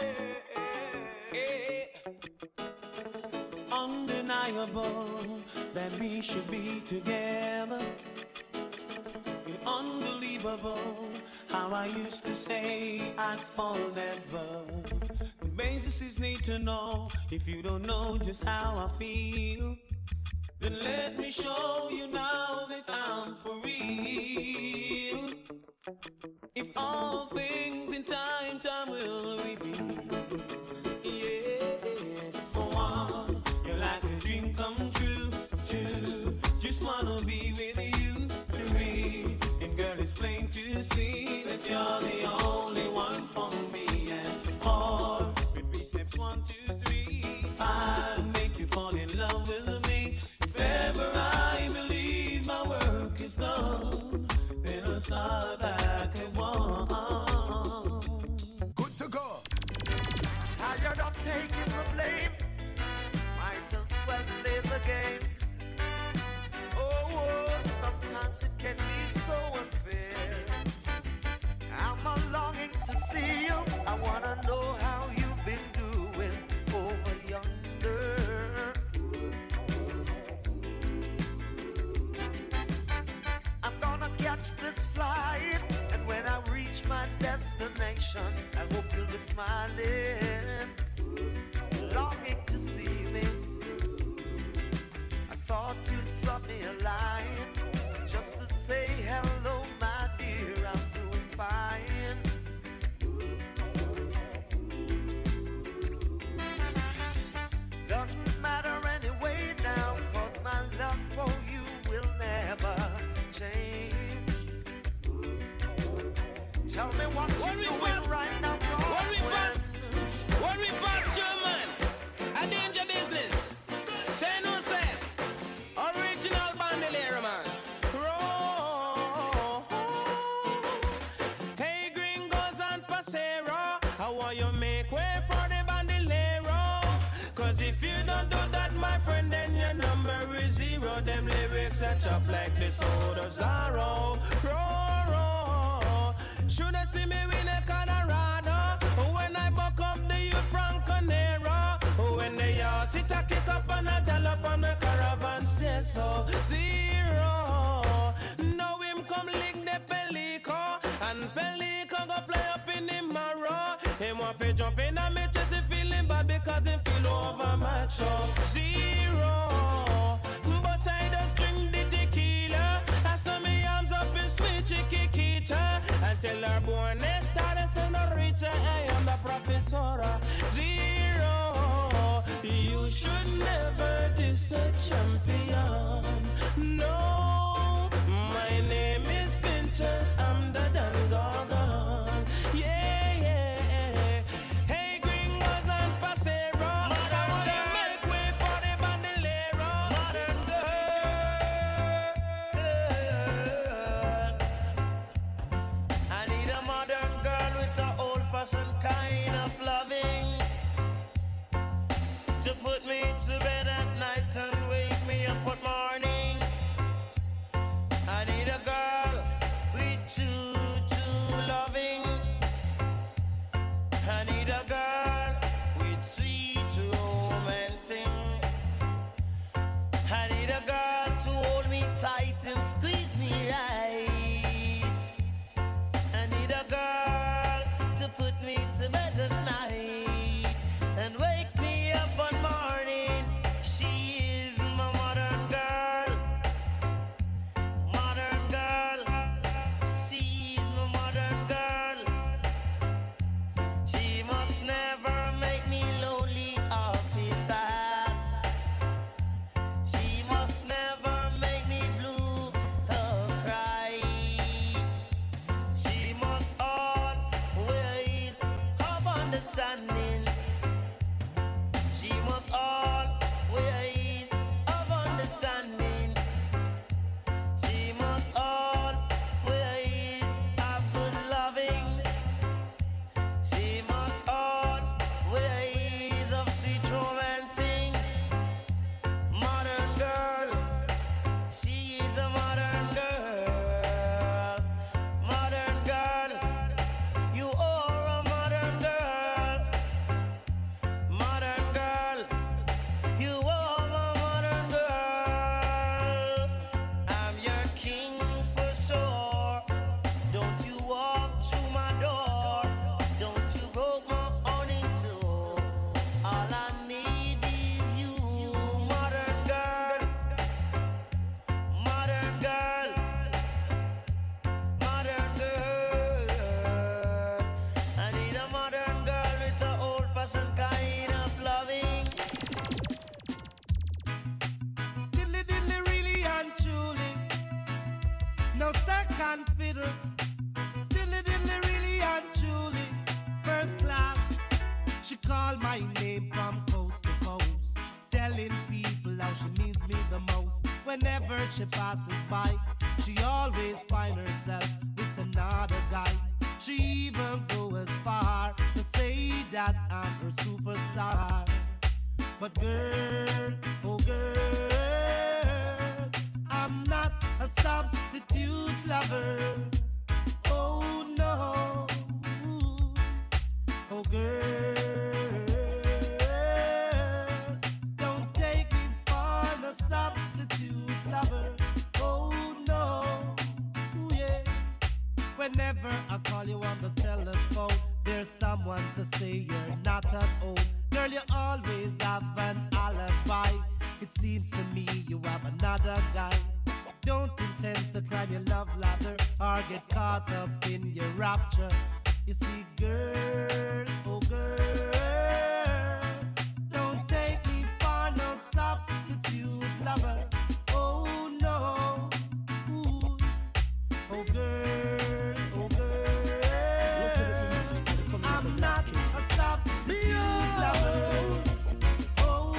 Undeniable that we should be together. It's unbelievable how I used to say I'd fall never. The basis is need to know. If you don't know just how I feel, then let me show you now that I'm for real. If all things in time, time will reveal. Wanna be with you, free. And girl, it's plain to see that you're the only one for me. And four, repeat steps one, two, three, five, make you fall in love with me. If ever I believe my work is done, then I'll start back at one. destination. I hope you'll be smiling, longing to see me. I thought you'd drop me a line just to say hello, my dear, I'm doing fine. Doesn't matter anyway now, cause my love for you will never change. Tell me what you doing right now, What we pass, what we pass, your man, a danger business. Say no, say, original bandolero, man. Roll. Hey, gringos and pasero, how will you make way for the bandolero? Cause if you don't do that, my friend, then your number is zero. Them lyrics are chopped like the sword of Zorro. Roll, roll. Should I see me win a Colorado? When I buck up the youth from Conero. When they all sit a kick up and a dollop on the caravan stay so zero. Now him come lick the Pelico, and Pelico go fly up in the marrow. Him want to jump in and me chest, he feeling bad because he feel over macho. Zero. But I just drink the tequila. I saw me arms up in sweet chiquita. Until our born they started senorita. I am the professora. Zero. You should never diss the champion. No. My name is Pinchas. I'm the Dan Gorgon. Yeah, yeah. Hey, gringos and pasero. Modern girl. Make way for the bandolero. Modern girl. I need a modern girl with an old-fashioned kind of loving to put me to bed at night and wake me up at morning. I need a girl with true, true loving. I need a girl with sweet romancing. I need a girl to hold me tight and squeeze me right. I need a girl to put me to bed at night and wake me up one morning. She is my modern girl. Modern girl. She is my modern girl. She must never make me lonely or be sad. She must never make me blue or cry. She must always have understanding. She must always have understanding. She must always have good loving. She must always have sweet romancing. Modern girl, she is a modern girl. Modern girl, you are a modern girl. Modern girl, you are a modern girl. I'm your king for sure. Don't you walk through my door. Don't you broke my owning too. All I need is you, modern girl. Modern girl. Modern girl. I need a modern girl with an old-fashioned kind of loving. Stiddly diddly really and truly, no second fiddle. Stiddly diddly really and truly, first class. She called my name from coast to coast, telling people how she means me the most. Whenever she passes by, she always find herself with another guy. She even go as far to say that I'm her superstar. But girl, oh girl, I'm not a substitute lover. Oh no, oh girl, don't take me for the substitute lover. Oh no, yeah. Whenever I call you on the telephone, there's someone to say you're not at home. Girl, you always have an alibi. It seems to me you have another guy. Don't intend to climb your love ladder or get caught up in your rapture. You see, girl, oh girl, don't take me for no substitute lover. Oh no, ooh, oh girl, oh girl, I'm not a substitute lover. Oh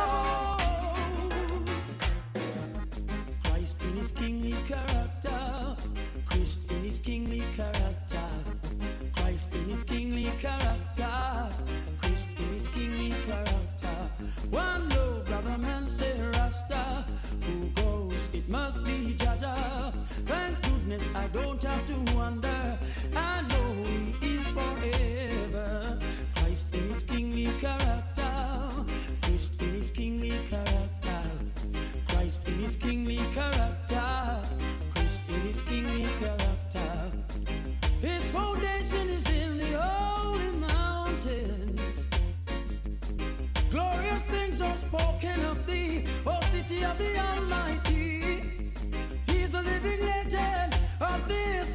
no, Christ in his kingly character, Christ in his kingly character, Christ in his kingly character, Christ in his kingly character. One low brother man say Rasta, who goes it must be Jaja. Thank goodness I don't have to wonder, I know he is forever. Christ in his kingly character, Christ in his kingly character, Christ in his kingly character, Christ in his kingly character. His foundation is in the holy mountains. Glorious things are spoken of thee, O city of the Almighty. He's the living legend of this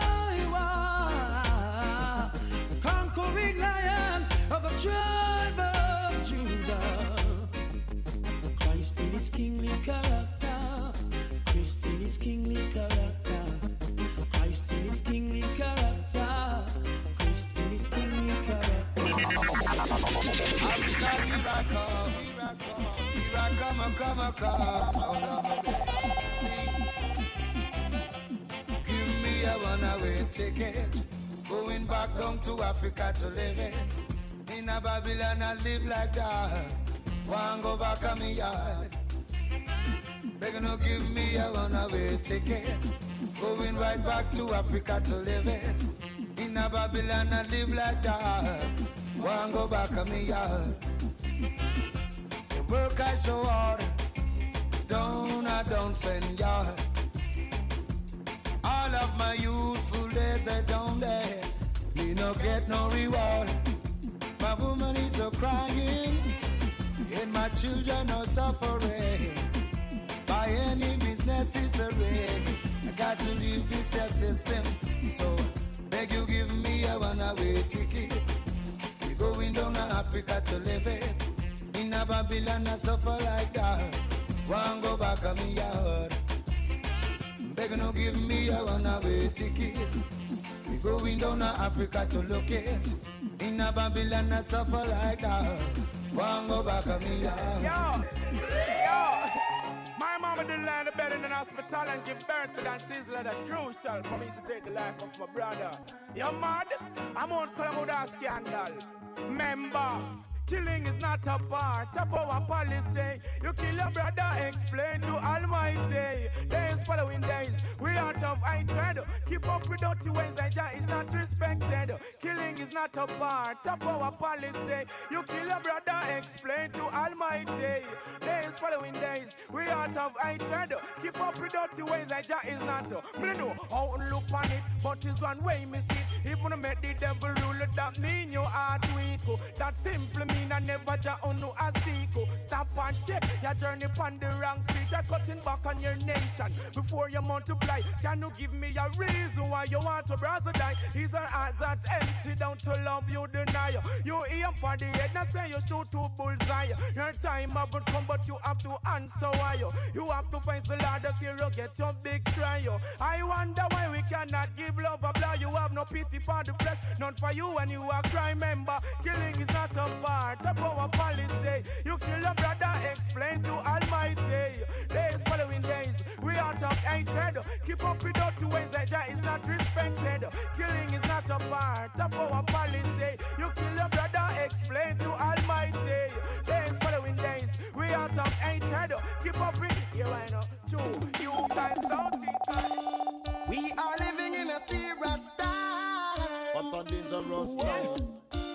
Iowa, the conquering lion of the tribe of Judah. Christ in his kingly character, Christ in his kingly character, Christ in his kingly character, Christ in his kingly character. Africa, here I come, here I come, here I come, I come, I come. Oh, Lord, see, give me a one-way ticket, going back down to Africa to live it. In a Babylon I live like that. Want go back on me yard. Begging no give me a one-way ticket, going right back to Africa to live it. In a Babylon I live like that. Want go back on me yard. The work I so hard, don't I don't send yard. All of my youthful days I don't there, me no get no reward. My woman is so crying, and my children are suffering. By any business is a ray, I got to leave this here system. So beg you give me a one-way ticket. We going down to Africa to live it. In a Babylon I suffer like that. Want go back on me yard. Beg no give me a one-way ticket. We going down to Africa to look it. In a Babylon I suffer like that. Want go back on me yard. Yo, yo. My mama didn't learn the bed in an hospital and give birth to that sizzler that crucial for me to take the life of my brother. You mad? I'm on Calamuda scandal. Member, killing is not a part of our policy. You kill your brother, explain to Almighty. Days following days, we out of hatred. Keep up with dirty ways, and Jah is not respected. Killing is not a part of our policy. You kill your brother, explain to Almighty. Days following days, we out of hatred. Keep up with dirty ways, and Jah is not. Me don't know how to look on it, but it's one way me see it. If you make the devil rule, that mean your heart weak. That simply mean I never ja unu a sequel. Stop and check your journey on the wrong street. You're cutting back on your nation before you multiply. Can you give me a reason why you want to brother die? Is our hearts that empty down to love you deny? You aim for the head, not say you shoot to bullseye. Your time haven't come, but you have to answer why. You have to face the Lord this year, you get your big trial. I wonder why we cannot give love a blow. You have no pity for the flesh, none for you when you are crime member. Killing is not a part of our policy. You kill your brother, explain to Almighty. Days following days, we out of hatred. Keep up with dirty ways, that Jah is not respected. Killing is not a part of our policy. You kill your brother, explain to Almighty. Days following days, we out of hatred. Keep up with here I know. True, you guys don't think. We are living in a serious time. What a dangerous time.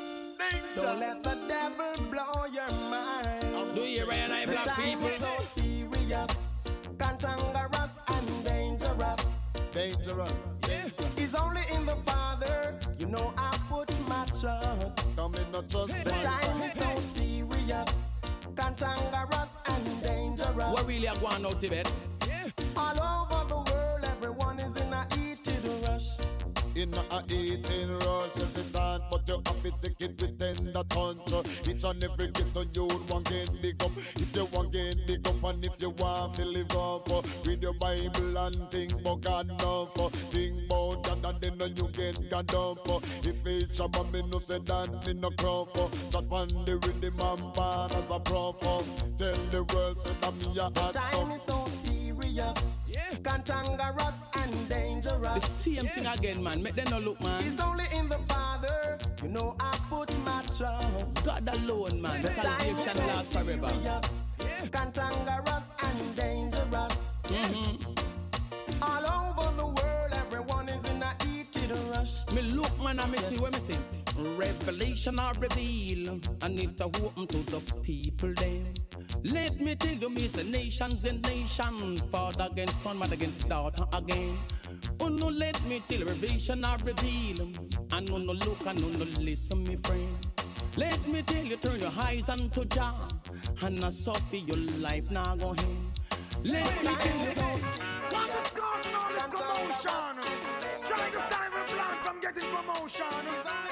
Don't let the devil blow your mind. Do you realize black the time people? is so serious, cantankerous and dangerous. Dangerous. Yeah. It's only in the Father, you know I put my trust. Come in, not trust The time is so serious, cantankerous and dangerous. What really are going out of bed? All over the world, everyone is in a heated rush. In a eating rush, yes it on, but you have to take it with tender touch. Each and every ghetto you want get big up. If you want get big up and if you want to live up, read your Bible and think about God enough. Think about God and then you get God up. If it's a man, me no say that me no crop. That one the rhythm and pan as a prof. Tell the world say that me a hot The time is so serious, cantankerous and dangerous. The same thing again, man. Make them no look, man. It's only in the Father, you know I put my trust. God alone, man. The time is Salvation so lasts forever. serious, cantankerous and dangerous. Mm-hmm. All over the world, everyone is in a heated rush. Me look, man, and me see what me see. Revelation or reveal, I need to open to the people then. Let me tell you, me say nations and nation, father against son, mother against daughter again. Oh no, let me tell you, revelation or reveal, I no no look, I no no listen, me friend. Let me tell you, turn your eyes unto Jah, and I suffer your life now go ahead. Let me tell you, what is going on this commotion? Trying to stop a plan from getting promotion.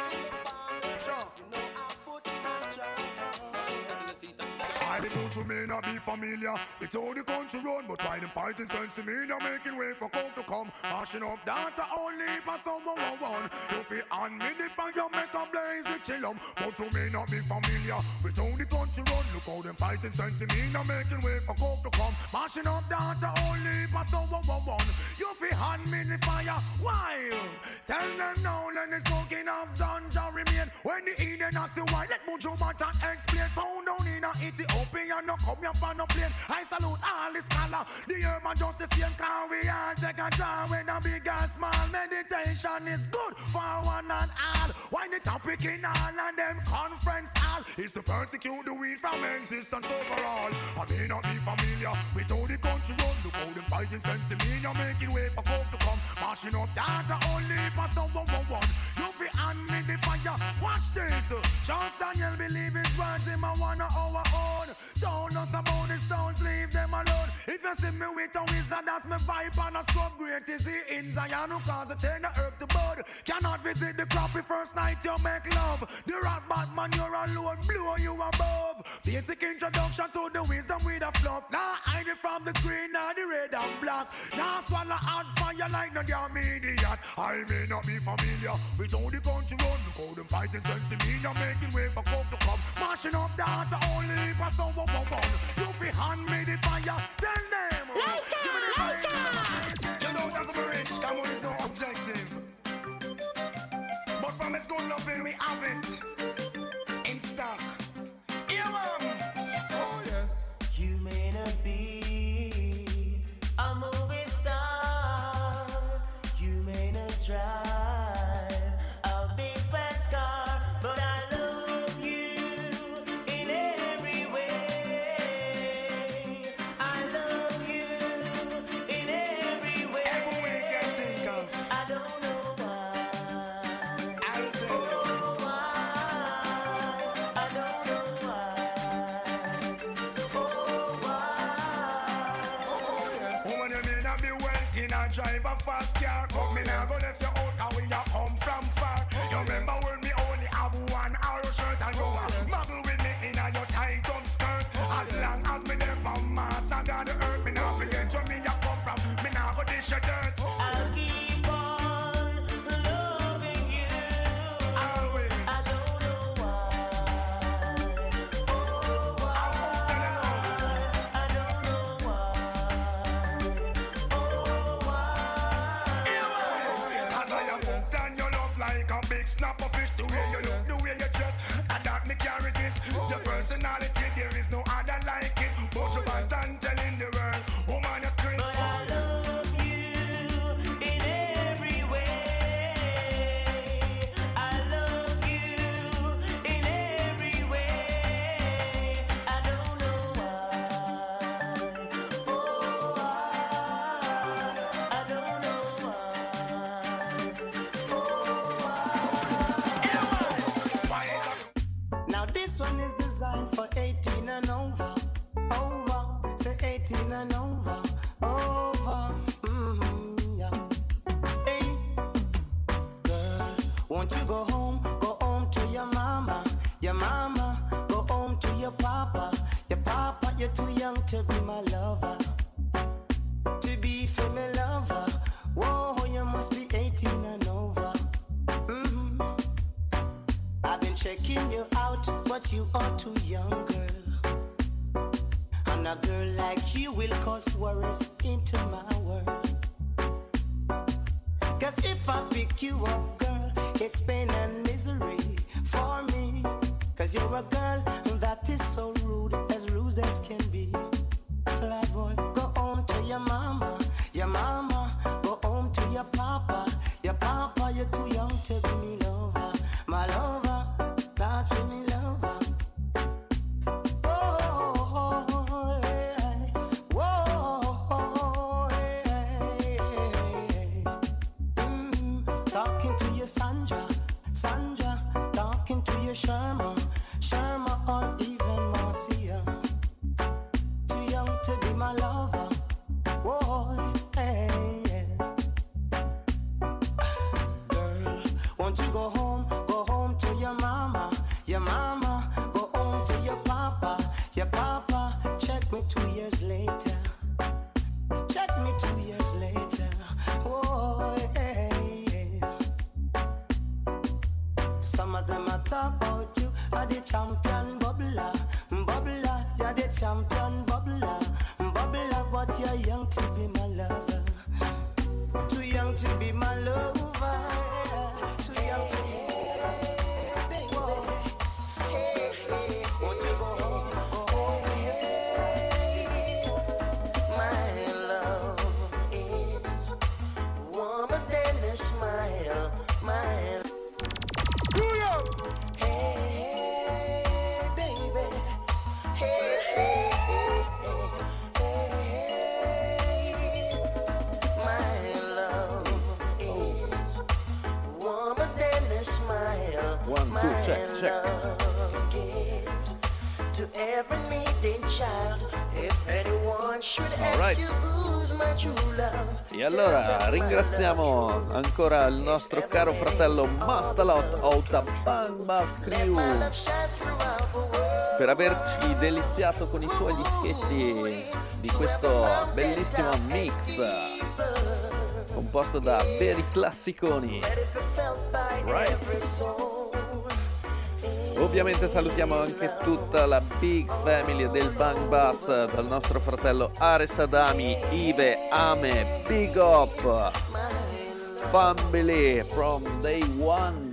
I the country may not be familiar with how the country run, but why them fighting sense in me, they're making way for coke to come. Mashing up data only for someone who won. You feel on me the fire, make a blaze the chillum. But you may not be familiar with how the country run. Look how them fighting sense in me, they're making way for coke to come. Mashing up data only for someone who won. You feel on me the fire, why? Tell them now, let the smoking of ganja remain. When the Eden has the white, let Mujo Mata explain. Found down in a Ethiopia, no come here for no plane. I salute all the scholar. The urban just the same, can we all take a draw when a big and small. Meditation is good for one and all. Why the topic in all and them conference all is to persecute the weed from existence overall. I may not be familiar with how the country run. Look how them fighting sense in me, you're making way for coke to come. Mashing up data only for someone who won. You fi hand me the fire, watch this. Charles Daniel believe his words, him a one of our own. Don't us about the stones, leave them alone. If you see me with a wizard, that's my vibe and a scrub. Great is he in Zion who cause it turn the earth to bud. Cannot visit the crappy first night you make love. The rock Batman you're alone, blow you above. Basic introduction to the wisdom with a fluff. Now hide it from the green and the red and black. Now swallow hot fire like no damn idiot. I may not be familiar with how the country run. Look how them fighting sense in me, they're making way for coke to come. Mashing up data only for someone who won. You fi hand me the fire, tell them. Lighter, lighter. You know that's the rich, come on, it's no objective. But from its good loving we have it in stock. Yeah, man. Oh yes. You may not be a movie star, you may not drive a big fast car, but I love you in every way. I love you in every way. Every way you can think of. I don't know why. I'll tell you. Oh, why? I don't know why. Oh, why? Woman, you may not be wealthy, not drive a fast car. Come me now, go left you out and we you come from far. You remember when me only have one arrow shirt and you a muggle with me in a your tight up skirt. As long as me never mass, I got the earth. Me now forget where me you come from. Me now go dish your dirt. I'll keep on loving you. Always. I don't know why. Oh, why? I don't know why. Oh, why? As This one is designed for eighteen and over. Over, say eighteen and over. Over, mm-hmm, yeah. Hey, girl, won't you go home? Go home to your mama. Your mama, go home to your papa. Your papa, you're too young to be my lover. To be for my lover. Whoa, you must be eighteen and over. Mm-hmm. I've been checking you out, but you are too young, girl. And a girl like you will cause worries into my world. Cause if I pick you up, girl, it's pain and misery for me. Cause you're a girl that is so rude, as rude as can be. Lad boy, go home to your mama. Your mama, go home to your papa. Your papa, you're too young to be me lover. My lover, not for me lover. Oh, hey, whoa, hey, hey. Mm, talking to your Sandra, Sandra, talking to your Sharma, Sharma, or even Marcia. Too young to be my lover. Whoa, hey, yeah. Girl, won't you go home? Go home to your mama. Your mama, go home to your papa. Your papa, check me two years later. Check me two years later. Whoa, hey, yeah. Some of them are talk about you are the champion bubbler. Bubbler, you're the champion bubbler. Bubbler, but you're young to be my lover. Too young to be my lover. Too young to be Whoa. Won't you go home? Go home to your sister. My love is warmer than a smile. My hey, baby. Hey, hey, hey, hey. My love is warmer than a smile. One, two, check, check. Love gives to every needing child. If anyone should ask Alright. you who's my true love. E allora ringraziamo ancora il nostro caro fratello Mastalot of the Bang Bass Crew per averci deliziato con i suoi dischetti di questo bellissimo mix composto da veri classiconi. Right. Ovviamente salutiamo anche tutta la big family del Bang Bass, dal nostro fratello Ares Adami, Ive, Ame, big up, family from day one.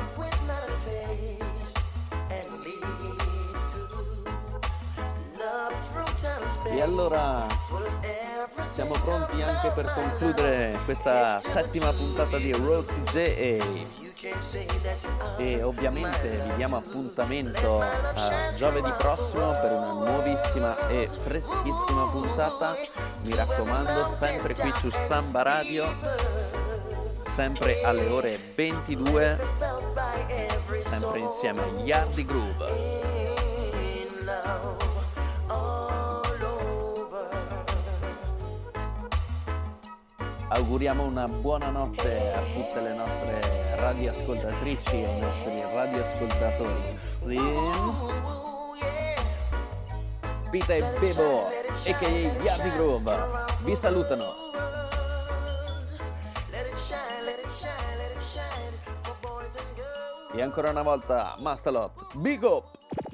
E allora siamo pronti anche per concludere questa settima puntata di Road to J A. E ovviamente vi diamo appuntamento a giovedì prossimo per una nuovissima e freschissima puntata. Mi raccomando, sempre qui su Samba Radio, sempre alle ore ventidue, sempre insieme a Yardi Groove. Auguriamo una buona notte a tutte le nostre radioascoltatrici e ai nostri radioascoltatori. Sin Pita e Bebo, a k a. Yardi Groove, vi salutano. E ancora una volta Mastalot, big up!